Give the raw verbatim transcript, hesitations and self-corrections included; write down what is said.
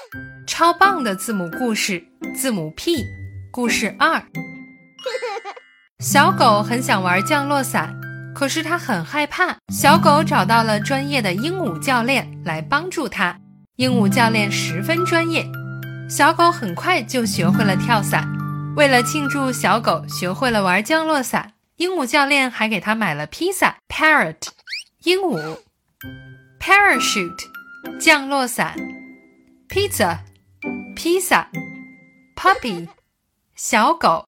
超棒的字母故事，字母 P， 故事二。小狗很想玩降落伞，可是它很害怕。小狗找到了专业的鹦鹉教练来帮助它。鹦鹉教练十分专业，小狗很快就学会了跳伞。为了庆祝小狗学会了玩降落伞，鹦鹉教练还给它买了披萨 Parrot 鹦鹉， Parachute 降落伞， Pizza 披萨， Puppy 小狗